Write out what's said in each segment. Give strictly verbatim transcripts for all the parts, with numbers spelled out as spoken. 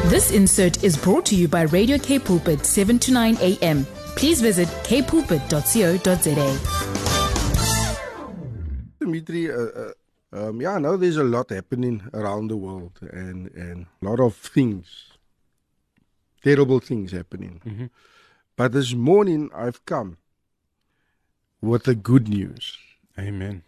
This insert is brought to you by Radio K Pulpit, seven to nine a m. Please visit k pulpit dot co dot za. Dimitri, uh, uh, um, yeah, I know there's a lot happening around the world and, and a lot of things, terrible things happening. Mm-hmm. But this morning I've come with the good news. Amen.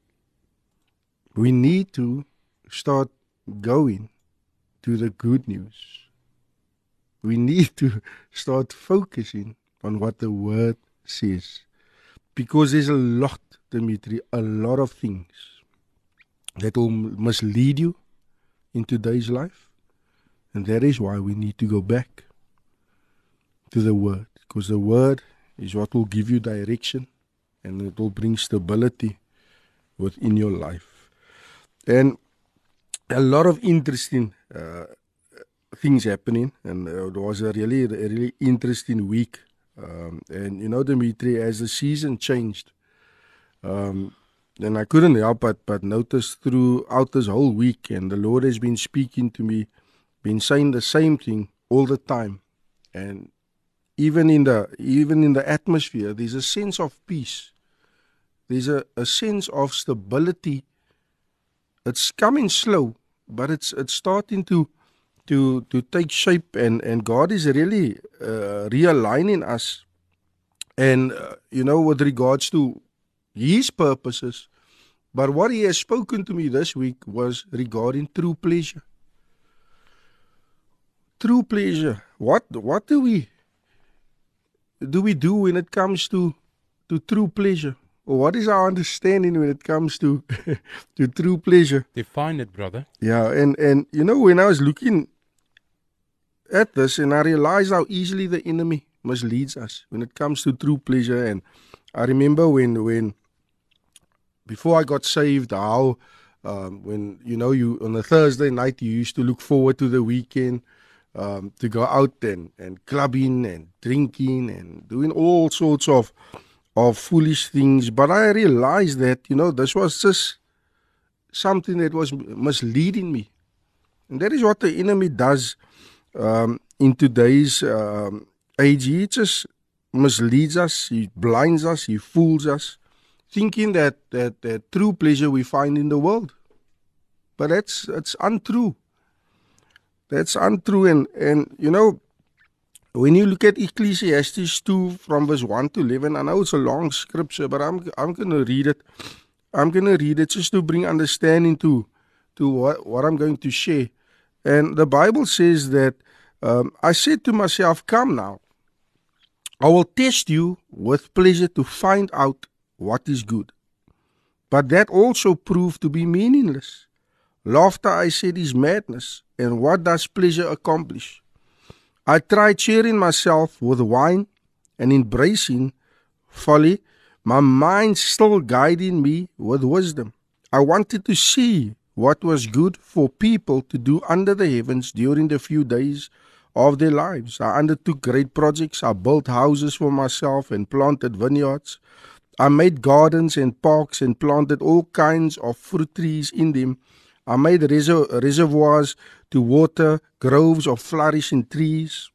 We need to start going to the good news. We need to start focusing on what the Word says. Because there's a lot, Dimitri, a lot of things that will mislead you in today's life. And that is why we need to go back to the Word. Because the Word is what will give you direction and it will bring stability within your life. And a lot of interesting uh, things happening, and uh, it was a really, a really interesting week. Um, and you know, Dimitri, as the season changed, um, and I couldn't help but, but notice throughout this whole week, and the Lord has been speaking to me, been saying the same thing all the time. And even in the even in the atmosphere, there's a sense of peace. There's a, a sense of stability. It's coming slow, but it's it's starting to to to take shape, and, and God is really uh, realigning us. And uh, you know, with regards to His purposes, but what He has spoken to me this week was regarding true pleasure. True pleasure. What what do we do we do when it comes to to true pleasure? What is our understanding when it comes to to true pleasure? Define it, brother. Yeah, and, and you know, when I was looking at this, and I realized how easily the enemy misleads us when it comes to true pleasure. And I remember when, when before I got saved, how um, when, you know, you on a Thursday night, you used to look forward to the weekend, um, to go out and, and clubbing and drinking and doing all sorts of of foolish things. But I realized that, you know, this was just something that was misleading me. And that is what the enemy does um, in today's um, age. He just misleads us, he blinds us, he fools us, thinking that, that, that true pleasure we find in the world. But that's, that's untrue. That's untrue. And, and, you know, when you look at Ecclesiastes two from verse one to eleven, I know it's a long scripture, but I'm I'm going to read it. I'm going to read it just to bring understanding to, to what, what I'm going to share. And the Bible says that, um, I said to myself, come now, I will test you with pleasure to find out what is good. But that also proved to be meaningless. Laughter, I said, is madness. And what does pleasure accomplish? I tried cheering myself with wine and embracing folly, my mind still guiding me with wisdom. I wanted to see what was good for people to do under the heavens during the few days of their lives. I undertook great projects. I built houses for myself and planted vineyards. I made gardens and parks and planted all kinds of fruit trees in them. I made reser- reservoirs to water groves of flourishing trees.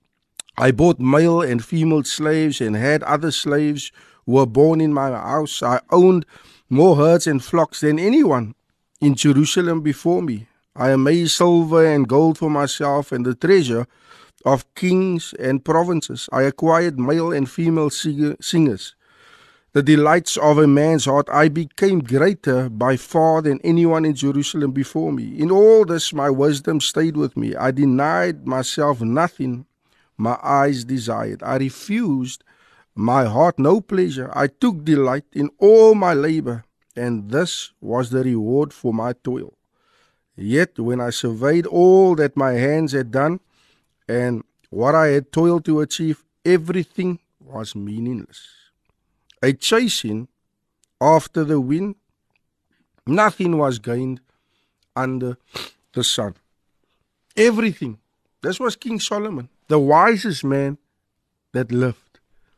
I bought male and female slaves and had other slaves who were born in my house. I owned more herds and flocks than anyone in Jerusalem before me. I made silver and gold for myself and the treasure of kings and provinces. I acquired male and female singers, the delights of a man's heart. I became greater by far than anyone in Jerusalem before me. In all this, my wisdom stayed with me. I denied myself nothing my eyes desired. I refused my heart no pleasure. I took delight in all my labor, and this was the reward for my toil. Yet when I surveyed all that my hands had done and what I had toiled to achieve, everything was meaningless. A chasing after the wind, nothing was gained under the sun. Everything. This was King Solomon, the wisest man that lived.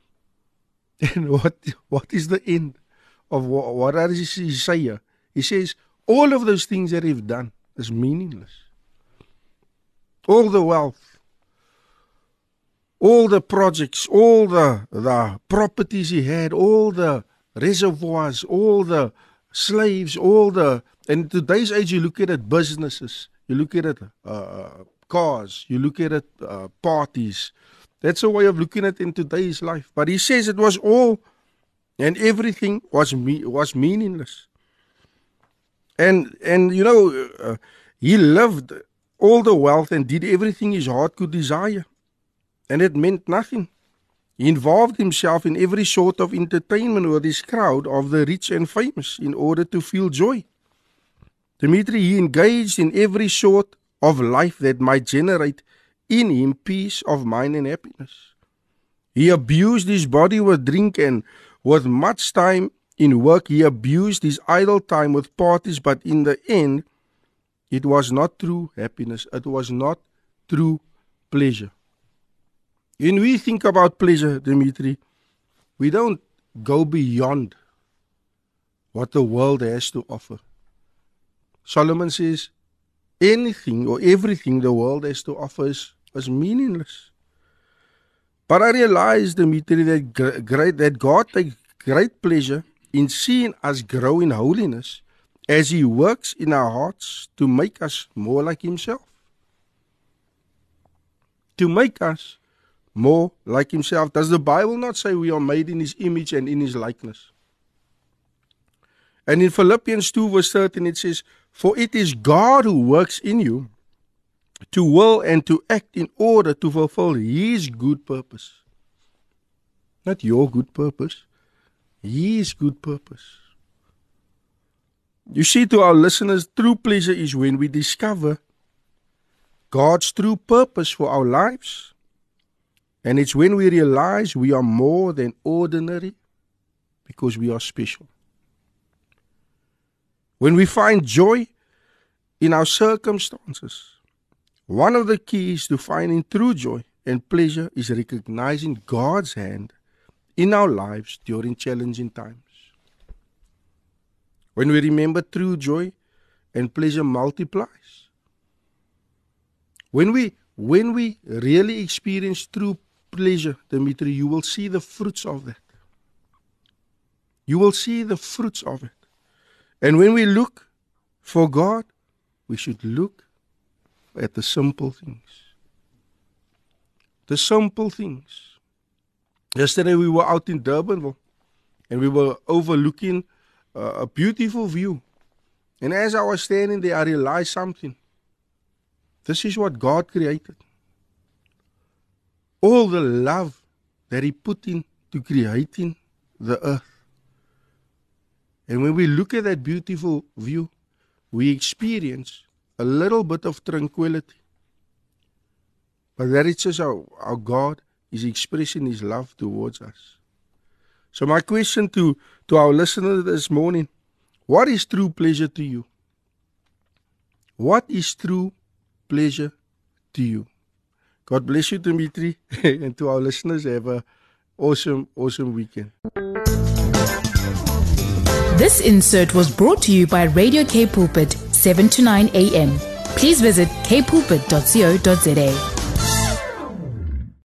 And what what is the end of what, what does he say here? He says, all of those things that he've done is meaningless. all the wealth, all the projects, all the, the properties he had, all the reservoirs, all the slaves, all the, and in today's age you look at it, businesses, you look at it, uh, cars, you look at it, uh, parties. That's a way of looking at it in today's life. But he says it was all, and everything was me was meaningless. And, and you know, uh, he lived all the wealth and did everything his heart could desire. And it meant nothing. He involved himself in every sort of entertainment with his crowd of the rich and famous in order to feel joy. Dimitri, he engaged in every sort of life that might generate in him peace of mind and happiness. He abused his body with drink, and with much time in work he abused his idle time with parties, but in the end it was not true happiness, it was not true pleasure. When we think about pleasure, Dimitri, we don't go beyond what the world has to offer. Solomon says anything or everything the world has to offer is, is meaningless. But I realize, Dimitri, that, great, that God takes great pleasure in seeing us grow in holiness as He works in our hearts to make us more like Himself. To make us more like Himself. Does the Bible not say we are made in His image and in His likeness? And in Philippians two verse thirteen it says, for it is God who works in you to will and to act in order to fulfill His good purpose. Not your good purpose, His good purpose. You see, to our listeners, true pleasure is when we discover God's true purpose for our lives. And it's when we realize we are more than ordinary because we are special. When we find joy in our circumstances, one of the keys to finding true joy and pleasure is recognizing God's hand in our lives during challenging times. When we remember true joy and pleasure multiplies. When we, when we really experience true pleasure, Dimitri, you will see the fruits of that. You will see the fruits of it. And when we look for God, we should look at the simple things. The simple things. Yesterday we were out in Durbanville and we were overlooking uh, a beautiful view. And as I was standing there, I realized something. This is what God created. All the love that He put into creating the earth. And when we look at that beautiful view, we experience a little bit of tranquility. But that is just how, how God is expressing His love towards us. So my question to, to our listeners this morning, what is true pleasure to you? What is true pleasure to you? God bless you, Dimitri, and to our listeners, have an awesome, awesome weekend. This insert was brought to you by Radio K Pulpit, seven to nine a.m. Please visit k pulpit dot co dot za.